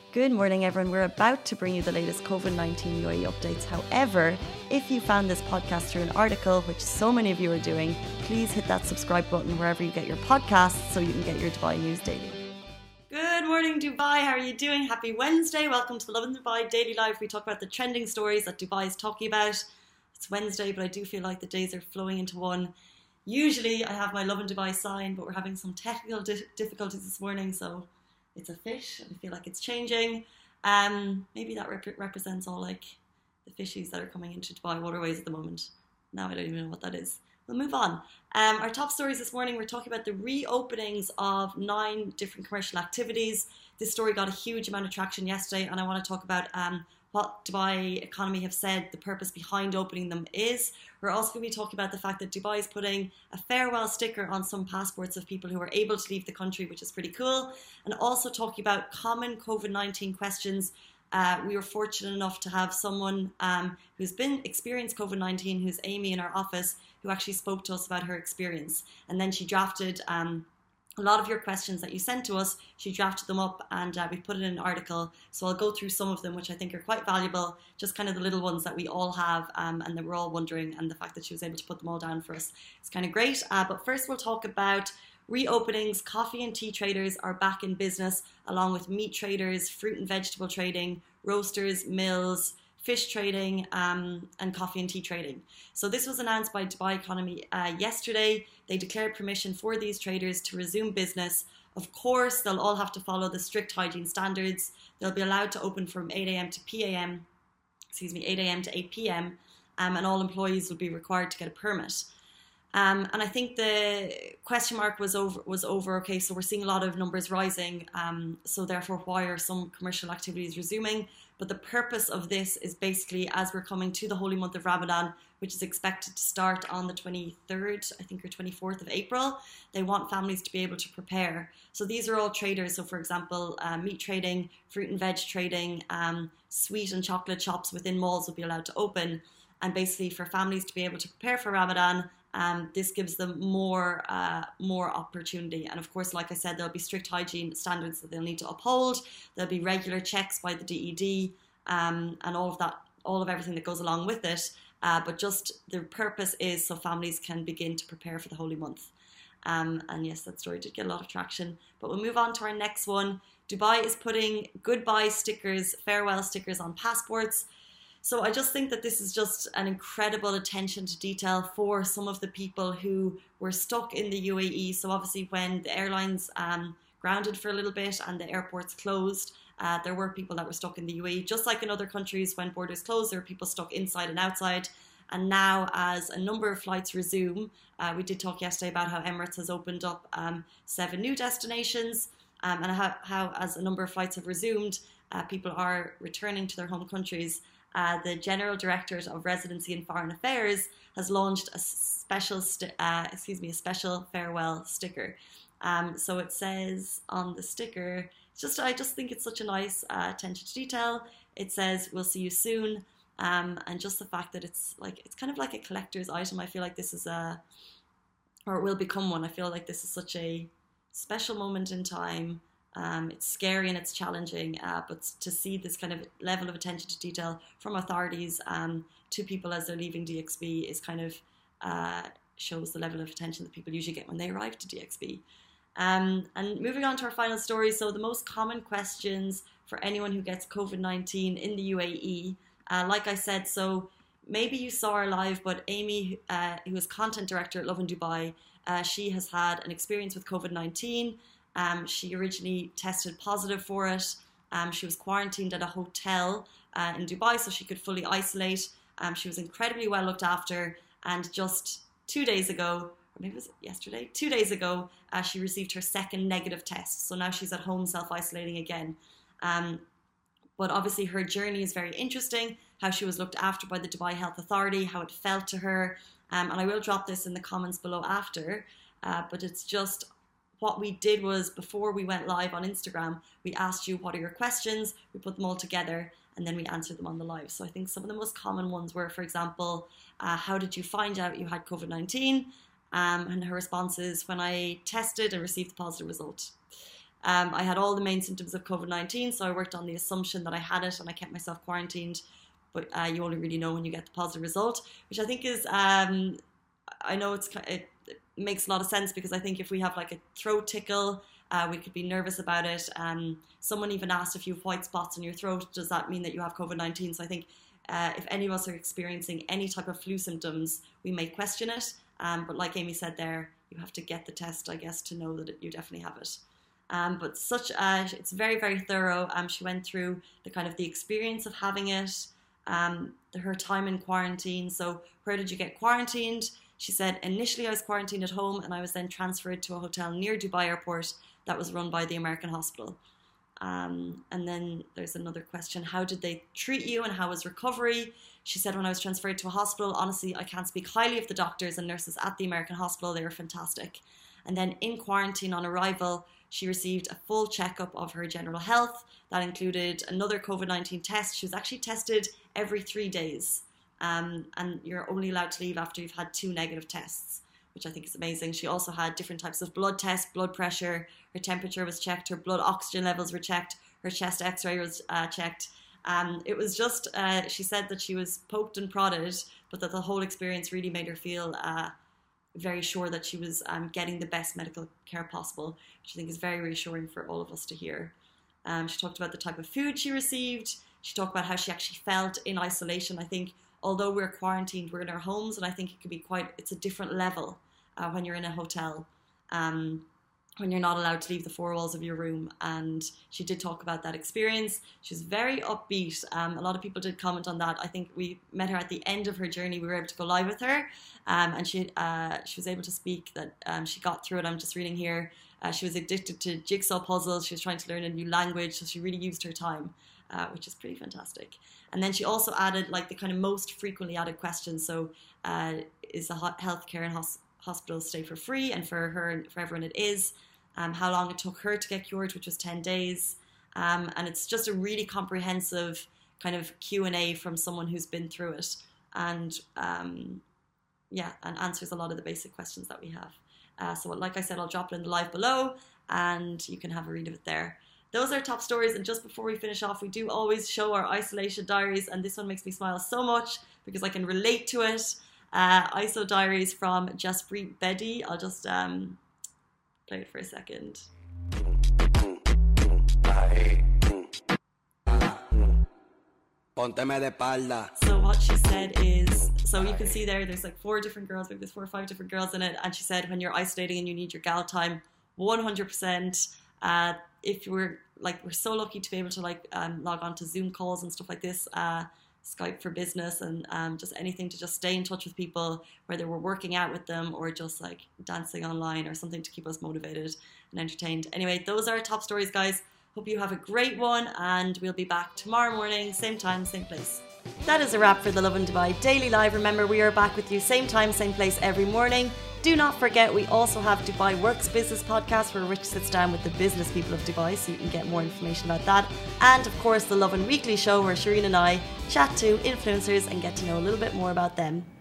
Good morning, everyone. We're about to bring you the latest COVID-19 UAE updates. However, if you found this podcast through an article, which so many of you are doing, please hit that subscribe button wherever you get your podcasts so you can get your Dubai news daily. Good morning, Dubai. How are you doing? Happy Wednesday. Welcome to the Lovin Dubai Daily Live. We talk about the trending stories that Dubai is talking about. It's Wednesday, but I do feel like the days are flowing into one. Usually I have my Lovin Dubai sign, but we're having some technical difficulties this morning, so it's a fish, and I feel like it's changing. Maybe that represents all like the fishies that are coming into Dubai waterways at the moment. Now I don't even know what that is. We'll move on. Our top stories this morning, we're talking about the reopenings of 9 different commercial activities. This story got a huge amount of traction yesterday, and I want to talk about what Dubai economy have said the purpose behind opening them is. We're also going to be talking about the fact that Dubai is putting a farewell sticker on some passports of people who are able to leave the country, which is pretty cool. And also talking about common COVID-19 questions. We were fortunate enough to have someone who's been experienced COVID-19, who's Amy in our office, who actually spoke to us about her experience. And then she drafted a lot of your questions that you sent to us. She drafted them up and we put it in an article. So I'll go through some of them, which I think are quite valuable, just kind of the little ones that we all have and that we're all wondering, and the fact that she was able to put them all down for us. It's kind of great. But first we'll talk about reopenings. Coffee and tea traders are back in business, along with meat traders, fruit and vegetable trading, roasters, mills, fish trading, and coffee and tea trading. So this was announced by Dubai Economy yesterday. They declared permission for these traders to resume business. Of course, they'll all have to follow the strict hygiene standards. They'll be allowed to open from 8 a.m. to 8 a.m. to 8 p.m. And all employees will be required to get a permit. And I think the question mark was over. Okay, so we're seeing a lot of numbers rising. So therefore, why are some commercial activities resuming? But the purpose of this is basically as we're coming to the holy month of Ramadan, which is expected to start on the 23rd, I think, or 24th of April. They want families to be able to prepare. So these are all traders. So for example, meat trading, fruit and veg trading, sweet and chocolate shops within malls will be allowed to open. And basically for families to be able to prepare for Ramadan, this gives them more opportunity. And of course, like I said, there'll be strict hygiene standards that they'll need to uphold. There'll be regular checks by the DED and all of everything that goes along with it. But just the purpose is so families can begin to prepare for the holy month. And yes, that story did get a lot of traction. But we'll move on to our next one. Dubai is putting goodbye stickers, farewell stickers on passports. So I just think that this is just an incredible attention to detail for some of the people who were stuck in the UAE. So obviously when the airlines grounded for a little bit and the airports closed, there were people that were stuck in the UAE. Just like in other countries, when borders closed, there were people stuck inside and outside. And now as a number of flights resume, we did talk yesterday about how Emirates has opened up 7 new destinations and how as a number of flights have resumed, people are returning to their home countries. The General Directorate of Residency and Foreign Affairs has launched a special farewell sticker. So it says on the sticker, I just think it's such a nice attention to detail. It says, "We'll see you soon," and just the fact that it's kind of like a collector's item. I feel like this is or it will become one. I feel like this is such a special moment in time. It's scary and it's challenging, but to see this kind of level of attention to detail from authorities to people as they're leaving DXB is kind of shows the level of attention that people usually get when they arrive to DXB. And moving on to our final story. So the most common questions for anyone who gets COVID-19 in the UAE, like I said, so maybe you saw her live, but Amy, who is content director at Lovin Dubai, she has had an experience with COVID-19. She originally tested positive for it. She was quarantined at a hotel in Dubai so she could fully isolate. She was incredibly well looked after, and just 2 days ago, or maybe it was yesterday, 2 days ago, she received her second negative test. So now she's at home self-isolating again. But obviously her journey is very interesting, how she was looked after by the Dubai Health Authority, how it felt to her. And I will drop this in the comments below after, but it's just what we did was before we went live on Instagram, we asked you what are your questions, we put them all together, and then we answered them on the live. So I think some of the most common ones were, for example, how did you find out you had COVID-19? And her response is, when I tested and received the positive result. I had all the main symptoms of COVID-19, so I worked on the assumption that I had it and I kept myself quarantined. But you only really know when you get the positive result, which I think is, I know it makes a lot of sense, because I think if we have like a throat tickle, we could be nervous about it. Someone even asked if you have white spots in your throat, does that mean that you have COVID-19? So I think if any of us are experiencing any type of flu symptoms, we may question it. But like Amy said there, you have to get the test, I guess, to know that you definitely have it. But it's very, very thorough. She went through the experience of having it, her time in quarantine. So where did you get quarantined? She said, initially I was quarantined at home, and I was then transferred to a hotel near Dubai airport that was run by the American hospital. And then there's another question. How did they treat you and how was recovery? She said, when I was transferred to a hospital, honestly, I can't speak highly of the doctors and nurses at the American hospital. They were fantastic. And then in quarantine on arrival, she received a full checkup of her general health. That included another COVID-19 test. She was actually tested every 3 days. And you're only allowed to leave after you've had 2 negative tests, which I think is amazing. She also had different types of blood tests, blood pressure, her temperature was checked, her blood oxygen levels were checked, her chest x-ray was checked. It was just, she said that she was poked and prodded, but that the whole experience really made her feel very sure that she was getting the best medical care possible, which I think is very reassuring for all of us to hear. She talked about the type of food she received. She talked about how she actually felt in isolation. I think although we're quarantined, we're in our homes, and I think it could be it's a different level when you're in a hotel, when you're not allowed to leave the 4 walls of your room. And she did talk about that experience. She was very upbeat. A lot of people did comment on that. I think we met her at the end of her journey. We were able to go live with her, and she was able to speak that she got through it. I'm just reading here. She was addicted to jigsaw puzzles. She was trying to learn a new language, so she really used her time, which is pretty fantastic. And then she also added the kind of most frequently added questions. So is the healthcare and hospitals stay for free? And for her and for everyone it is. How long it took her to get cured, which was 10 days. And it's just a really comprehensive kind of Q&A from someone who's been through it. And and answers a lot of the basic questions that we have. So like I said, I'll drop it in the live below and you can have a read of it there. Those are top stories. And just before we finish off, we do always show our isolation diaries. And this one makes me smile so much because I can relate to it. ISO diaries from Jaspreet Bedi. I'll just play it for a second. So what she said is, so you can see there's 4 different girls, maybe there's 4 or 5 different girls in it. And she said, when you're isolating and you need your gal time, 100%. If we're so lucky to be able to log on to Zoom calls and stuff like this, Skype for business, and just anything to just stay in touch with people, whether we're working out with them or just dancing online or something to keep us motivated and entertained. Anyway, those are our top stories, guys. Hope you have a great one, and we'll be back tomorrow morning, same time, same place. That is a wrap for the Lovin Dubai Daily Live. Remember, we are back with you same time, same place every morning. Do not forget, we also have Dubai Works Business Podcast, where Rich sits down with the business people of Dubai, so you can get more information about that. And of course, the Lovin Weekly Show, where Shireen and I chat to influencers and get to know a little bit more about them.